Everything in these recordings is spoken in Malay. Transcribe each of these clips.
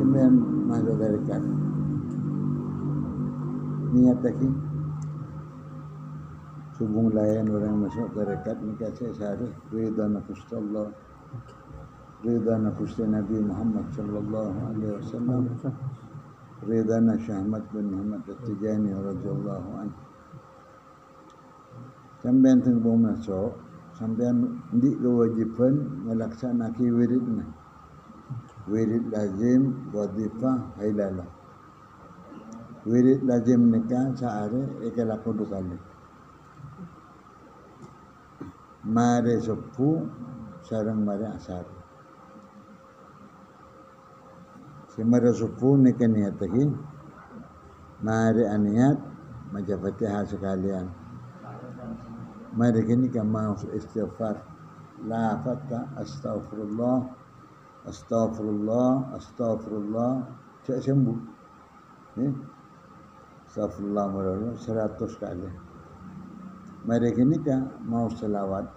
sampean masuk tarekat niat lagi subung layan orang masuk tarekat nikah saya sehari ridha nafsu Allah ridha nafsu Nabi Muhammad sallallahu alaihi wasallam ridha Syekh Ahmad bin Muhammad At-Tijani radhiyallahu anhu sampean tengah masuk sampean di kewajiban melaksanakan wiridna wirid lazim wadifah hailalah wirid lazim nikah sehari ikalaku 2 kali mare subuh sareng mare asar si mare subuh nikah niat lagi mare aniat maca Fatihah sekalian mari kini mau istighfar la fatta astaghfirullah astagfirullah cek sembuh astagfirullah merana 100 kali mari kini mau selawat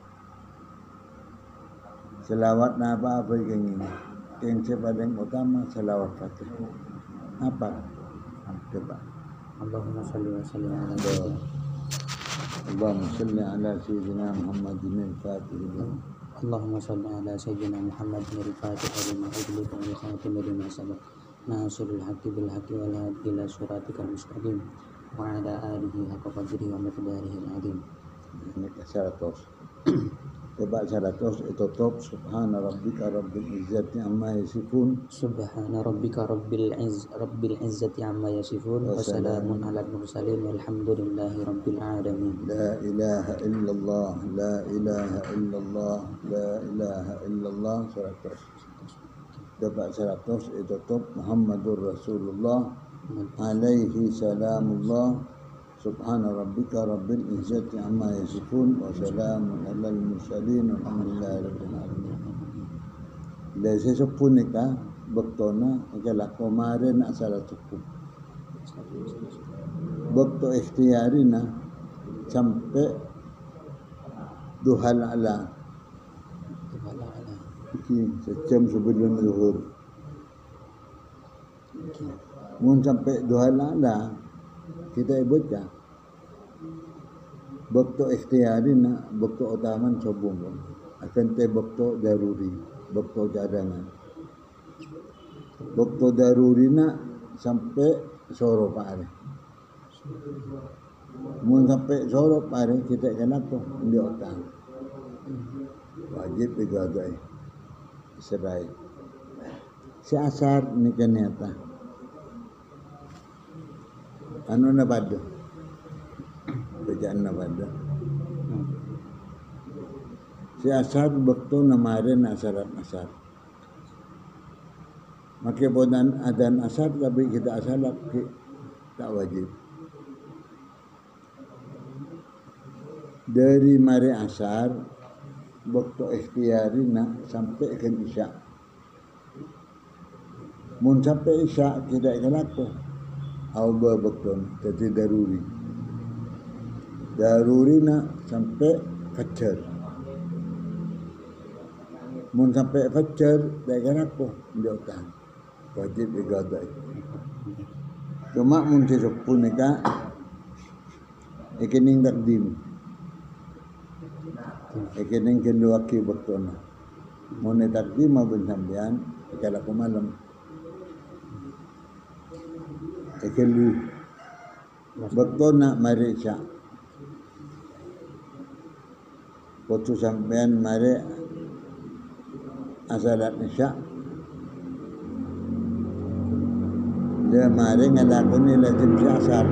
na apa yang paling utama selawat Fatihah apa coba Allahumma salli wa sallim ala Allahumma salli ala sayyidina Muhammadin al-Fatih اللهم صل على سيدنا محمد الفاتح لما أغلق والخاتم لما سبق ناصر الحق بالحق والهادي إلى صراطك المستقيم وعلى آله حق قدره ومقداره العظيم. Ini ke-100. Coba 100 itu top subhana rabbika rabbil izzati amma yasifun subhana rabbika rabbil izzati amma yasifun wa salamun alal mursalin walhamdulillahi rabbil alamin. La ilaha illallah la ilaha illallah la ilaha illallah 100. Coba 100 itu top Muhammadur Rasulullah alaihi salamullah subhana rabbika rabbil izzati amma yasifun wa salamun alal mursalin walhamdulillahi rabbil alamin. Lese sepun nikah bektona ikala kemarin asal cukup. Bekto ikhtiarina sampai duhal ala. Sejam sebelum zuhur. Mun sampai duhal ala kita baca waktu ikhtiarina waktu utaman sobong akan te waktu daruri waktu cadangan waktu darurina sampai soro pare mun sampai soro pare kita kenapa di otang wajib digadai serai si asar ni kenyataan anu na pada bacaan na pada si asar waktu namarin asarat asar maka bodan adan asar tapi kita asalat tak wajib dari mari asar waktu ikhtiarina sampai ke isya mun sampai isya kita kenapa Allah betul, jadi darurina sampai fajar. Mun sampai fajar, dengan apa? Dia utang, wajib digadai. Cuma mun sepuluh nikah, ikining takdim, ikining kenduaki betul. Mun takdim mabun sambian, kalau aku malam. Ekelu betul nak mari syak waktu sampean mari asalat syak dia mari ngelakoni lazim asar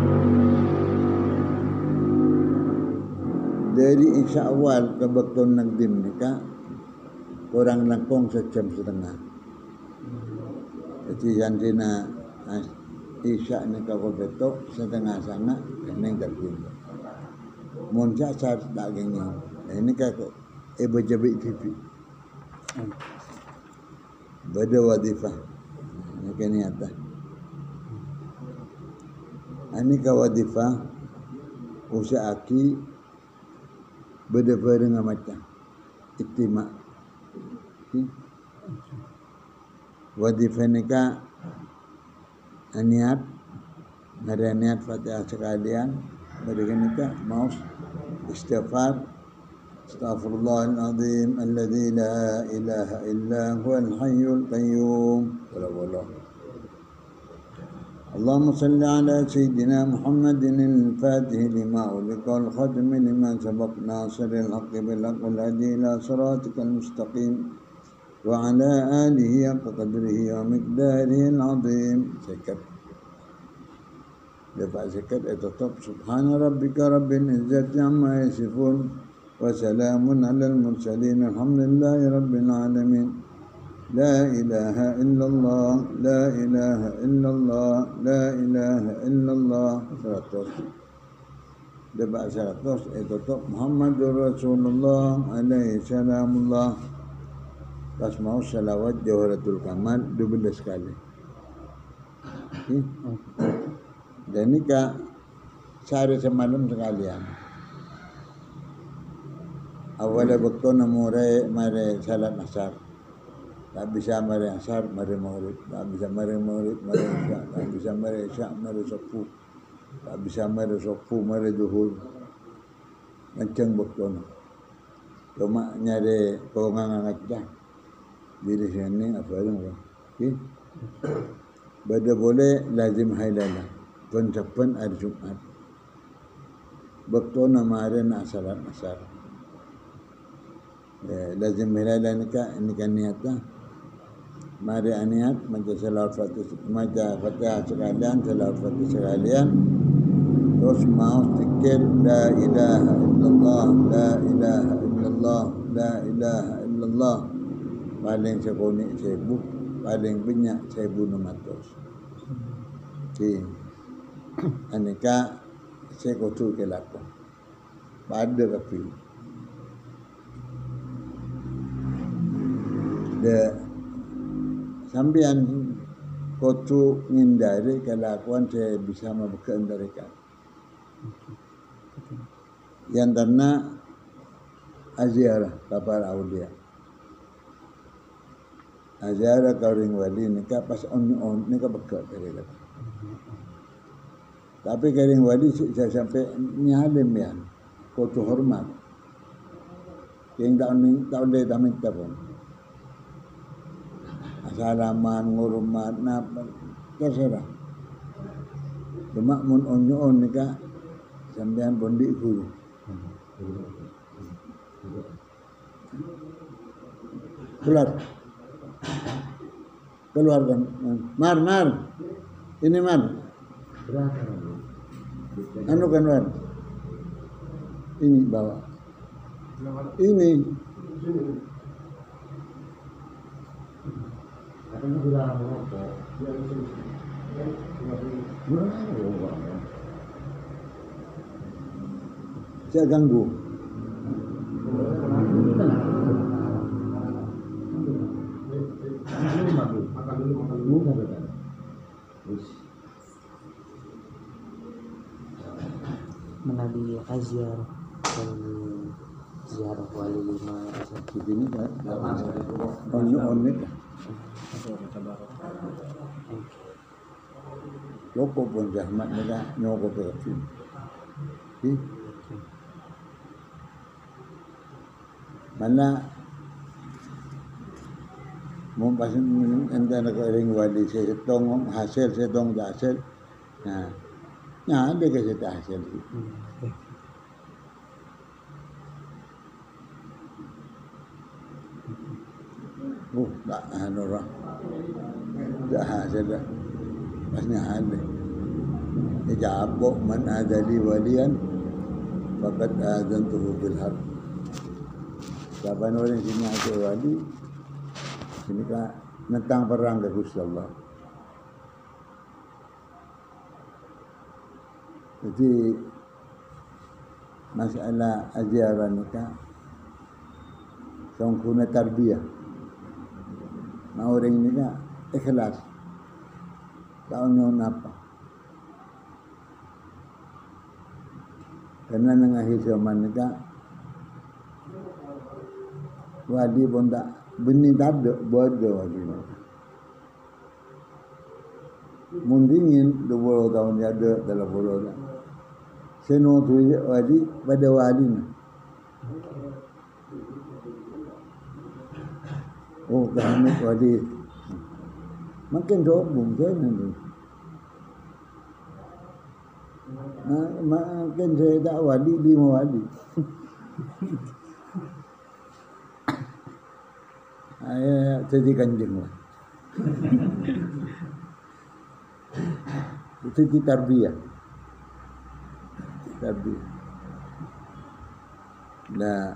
dari isya awal ke betul nakdim nikah kurang langkung 1,5 jam jadi jantina isya ni kau betul setengah sana kening terjun. Munca saat tak gini. Ini kau ibu jabik TV. Beda wadifah. Ini kini atas. Ini kau wadifah usaha aki beda dengan macam istimak. Wadifah ni kau niat, mari niat Fatihah sekalian, mari kita mau istighfar. Astaghfirullahaladzim alladzi la ilaha illa huwal hayyul qayyum. اللهم صل على سيدنا محمد الفاتح لما أغلق والختم لما سبق ناصر الحق بالحق والهدي إلى صراطك المستقيم وعلى آله حق قدره ومقداره العظيم. سكت دفع سكت اتطب. سبحان ربك رب العزة عما يصفون وسلام على المرسلين الحمد لله رب العالمين. لا إله إلا الله لا إله إلا الله لا إله إلا الله. 100 debak 100 tutup Muhammadur Rasulullah alaihi salamullah. Pas mau salawat Jawharatul Kamal 12 kali. Dan ini kak sehari semalam sekalian. Awalnya waktu mare salat asar. Tak bisa mari asar, mari maghrib. Tak bisa mari maghrib, mari isya. Tak bisa mari isya, mari subuh. Tak bisa mari subuh, mari zuhur. Macam waktu. Cuma nyari kewenangan aja. Di sini apa yang okay? Bada boleh lazim hailala. Pencapan hari Jumat. Waktu namarin asaran asar. Lazim hailala ini kan niatnya. Mari niat macam salawat Fatihah sekalian, salawat Fatihah sekalian. Terus mau zikir la ilaha illallah, la ilaha illallah, la ilaha illallah. Paling sekonik 1000, paling banyak 1600. Okey. Aneka sekotu ke laku. Pada kapi. Sambian kotu ngindari kelakuan saya bisa membekendarikan. Yang karena aziarah kapal aulia. Aziarah kauring wali nikah pas on nikah bekat dari kata. Tapi kauring wali saya sampai nyalim ya. Kotu hormat. Yang tak boleh tak minta pun. Salaman, ngurmat, napa, terserah. Cuma mun onyo nikah sampean bondi guru. Keluarkan. Mar. Ini Mar. Anu kan Mar. Ini bawa. Ini. Katanya dilarang merokok. Saya ganggu. Menabi aziar dan ziarah wali 5 Begini kan? On-it. Loko pun zahmat mereka nyokok ke film. Mana mau pasang antara kering wali saya setong hasil setong tak hasil. Nah, ada ke saya hasil. Tak ada orang. Tak hasil dah. Pasnya ada. Ijabok man adali walian faqad azantuhu bil harb. Siapa orang sini ada wali, sini kan nentang perang ke Gusti Allah. Jadi masalah ajaran nikah songkuna tarbiyah. Mau orang ini kan ikhlas. Tahunya apa? Karena nengahi zaman nikah wali pun tak benih tak ada bodoh wali. mun dingin 20 tahun dia ada dalam bola dah. Seno tu wali pada wali ni. Oh, kami wali. Makin dobung kan tu. Makin saya tak wali 5 wali. Ayah jadi kanjeng lah. Itu di tarbiyah. Nah,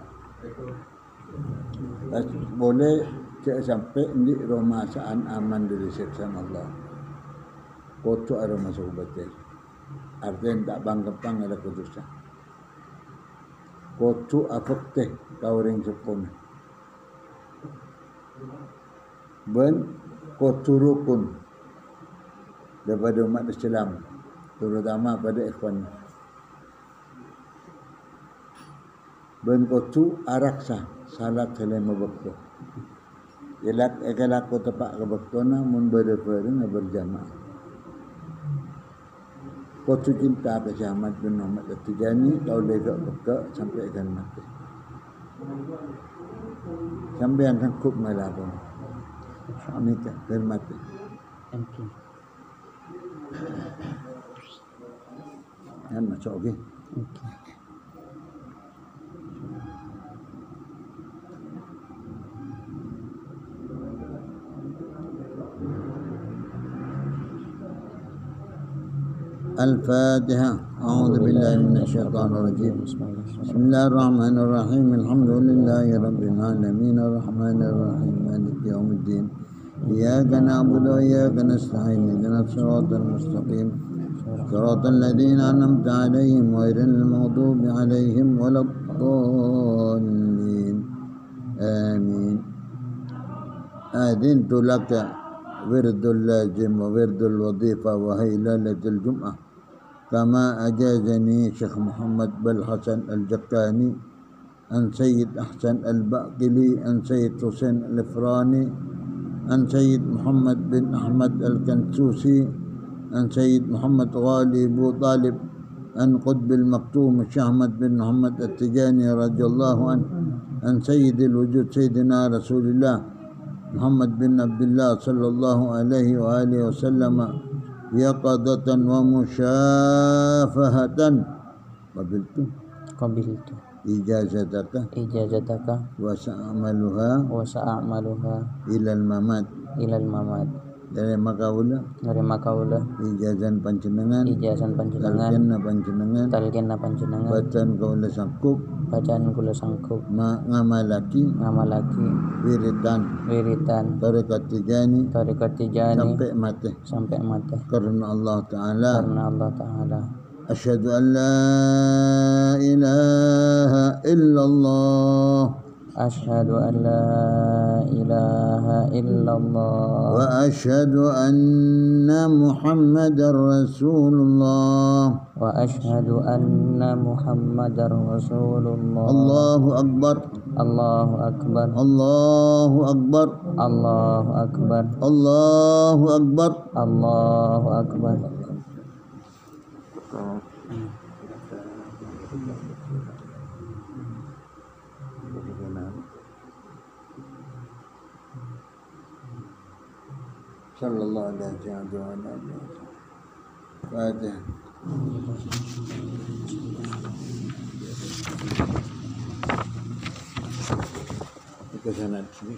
boleh sampai di romasaan aman dari siksaan Allah. Kocok ada masuk batin. Artinya tak bangkepang ada kudusan. Kocok afak teh kauring sepuluh. Ben kocok rukun daripada umat Islam, terutama pada ikhwan. Ben kocok araksa salat selama waktu. Jelak ekalak ko tepak ke baktona mun berdefereng berjamaah. Kocok cinta ke Ahmad bin Muhammad At-Tijani kau lega beka sampai akan mati. Sampai yang sangkup ngalapun. Ini kan mati. Mungkin. Kan masuk okey. Okay. الفاتحة. أعوذ بالله من الشيطان الرجيم. بسم الله الرحمن الرحيم. الحمد لله رب العالمين الرحمن الرحيم مالك يوم الدين. إياك نعبد وإياك نستعين اهدنا الصراط المستقيم صراط الذين أنعمت عليهم غير المغضوب عليهم ولا الضالين آمين. أذنت لك ورد اللازم وورد الوظيفة وهي ليلة الجمعة كما أجازني شيخ محمد بن حسن الجكاني عن سيد أحسن الباقلي عن سيد حسين الإفراني عن سيد محمد بن أحمد الكنسوسي عن سيد محمد غالي أبو طالب عن قطب المكتوم الشيخ أحمد بن محمد التجاني رضي الله عنه عن سيد الوجود سيدنا رسول الله محمد بن عبد الله صلى الله عليه وآله وسلم يقظة ومشافهة قبلت إجازتك وسأعملها إلى الممات dari makaula ijazan panjenengan talqinna panjenengan bacaan kula sangkup ngamalaki wiritan tarekat tijani sampai mati karena Allah Ta'ala asyhadu an la ilaha illallah أشهد أن لا إله إلا الله وأشهد أن محمدا رسول الله وأشهد أن محمدا رسول الله الله أكبر الله أكبر الله أكبر الله أكبر الله أكبر الله أكبر صلى الله عليه وسلم فاتح ke sana sini.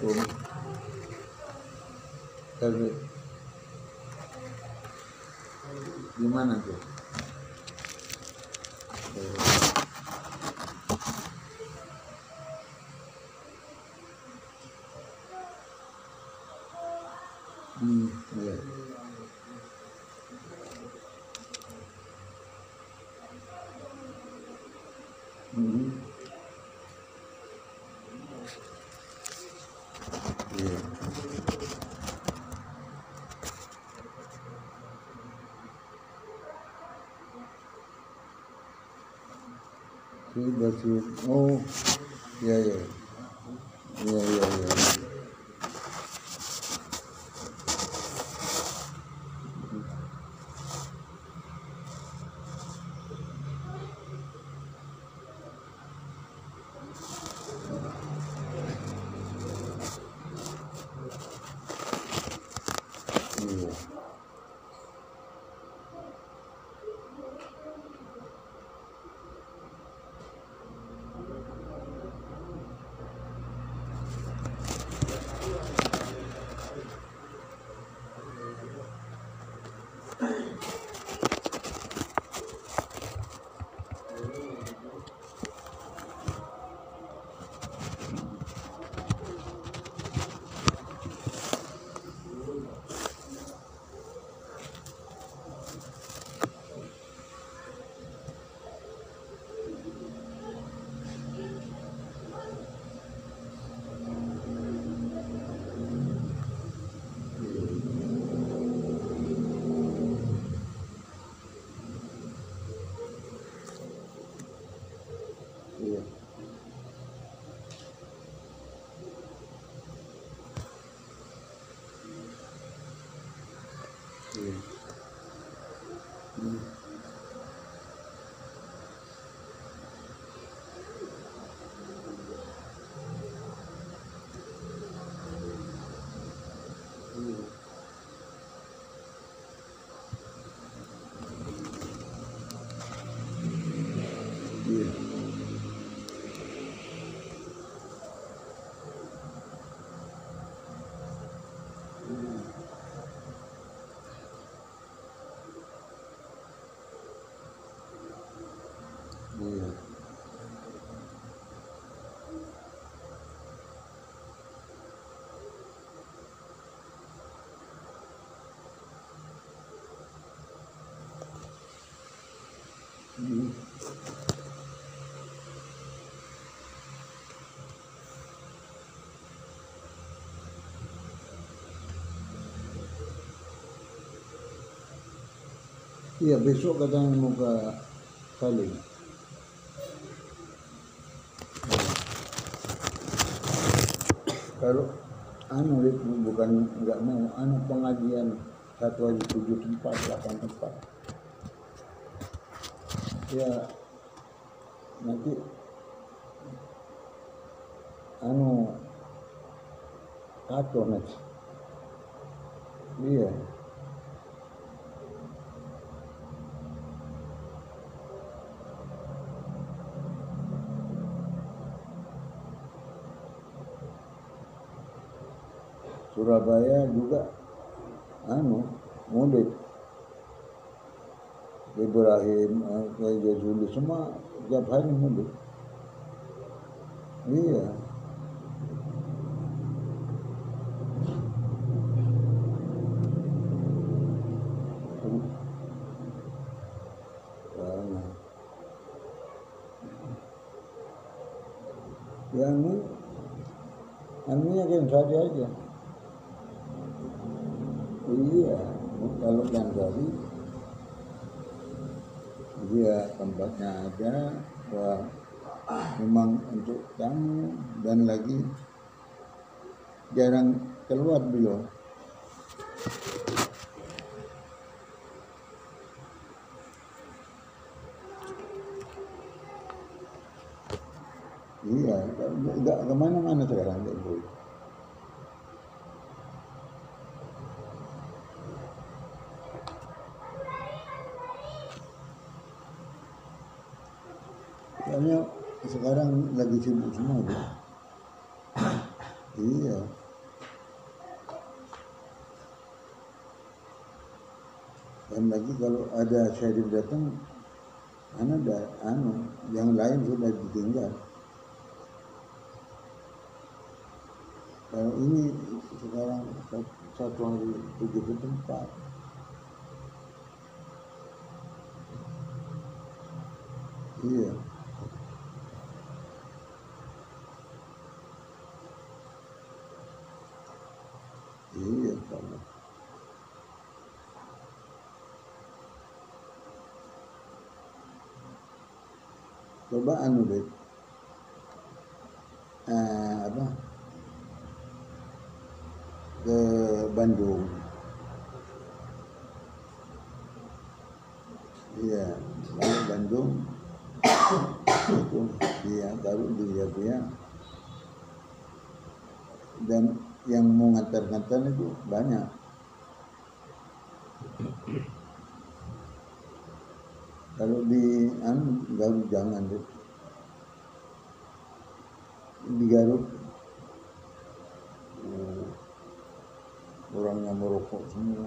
Assalamualaikum. Tapi gimana tuh? Iya. Iya. Basir. Oh, iya iya. Iya iya iya. Iya. Iya. Iya. Iya. Iya. Iya, besok katanya mau ke Saling. Kalau bukan nggak mau pengajian 1 hari 7 tempat 8 tempat ya nanti kacau nanti. Iya. Surabaya juga mudik. Ibrahim, Jazuli semua tiap hari mudik. Iya. Ya anunya kan saja aja. Iya, kalau yang tadi dia tempatnya ada, wah memang untuk tamu dan lagi jarang keluar beliau. Iya, nggak kemana-mana sekarang nggak boleh. Soalnya sekarang lagi sibuk semua tuh. Iya. Dan lagi kalau ada syarif datang, yang lain sudah ditinggal. Kalau ini sekarang satu hari 7 tempat. Iya. Iya, sama. Coba deh. Ke Bandung. Iya, lalu Bandung itu dia baru dilihat dia, dan yang mau ngantar-ngantar itu banyak. Kalau di Garut jangan deh. Di Garut orangnya merokok semua.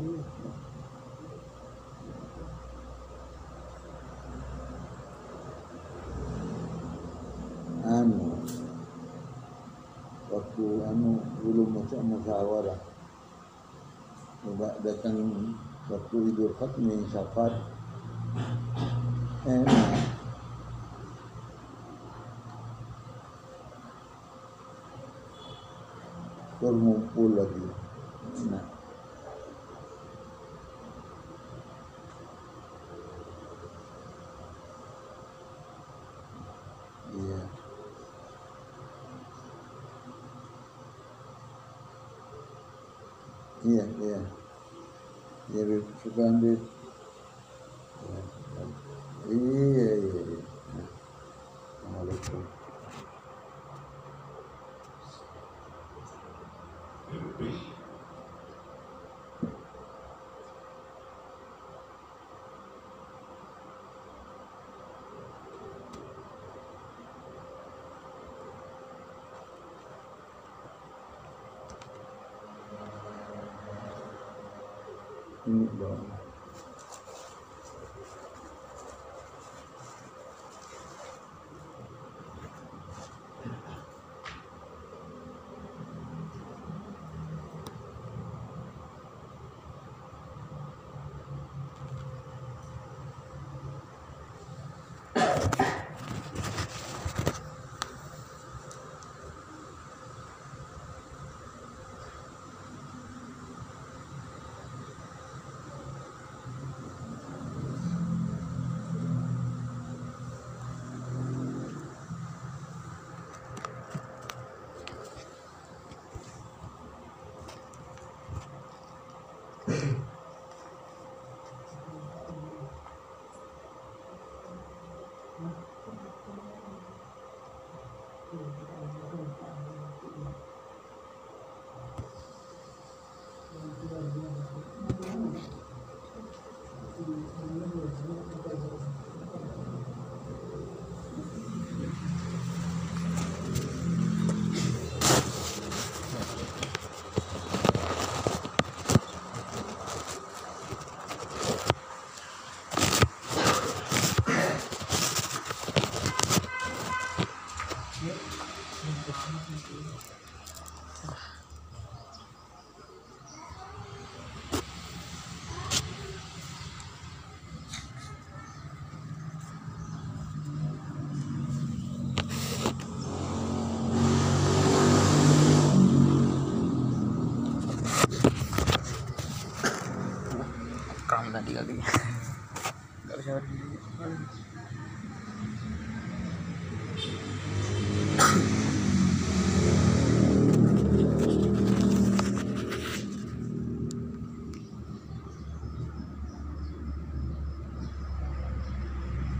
Waktu belum masuk musyawarah, coba datang waktu Idul Fitri Safar, enak. Berkumpul lagi. Nah, iya. Iya. Jadi suka ambil. Iya. Assalamualaikum. Ini dong. Kram tadi kali. Enggak bisa.